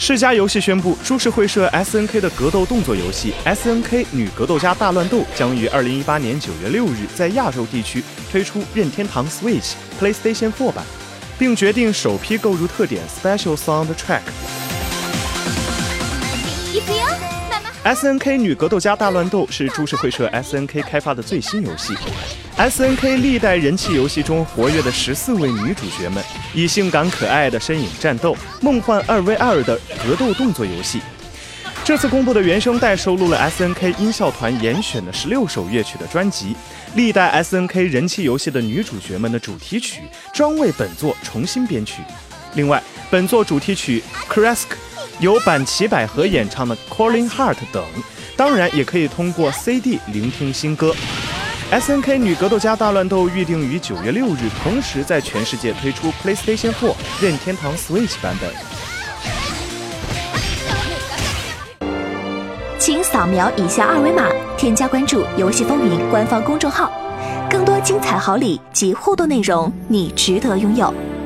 世嘉游戏宣布，株式会社 SNK 的格斗动作游戏 SNK 女格斗家大乱斗将于2018年9月6日在亚洲地区推出任天堂 Switch、PlayStation 4版，并决定首批购入特点 Special Soundtrack。SNK 女格斗家大乱斗是株式会社 SNK 开发的最新游戏。SNK 历代人气游戏中活跃的14位女主角们，以性感可爱的身影战斗，梦幻2v2的格斗动作游戏。这次公布的原声带收录了 SNK 音效团严选的16首乐曲的专辑，历代 SNK 人气游戏的女主角们的主题曲专为本作重新编曲。另外，本作主题曲 Kresk 由坂崎百合演唱的 Calling Heart 等，当然也可以通过 CD 聆听新歌。SNK 女格斗家大乱斗预定于9月6日同时在全世界推出 PlayStation 4、任天堂 Switch 版本。 请扫描以下二维码，添加关注游戏风云官方公众号，更多精彩好礼及互动内容，你值得拥有。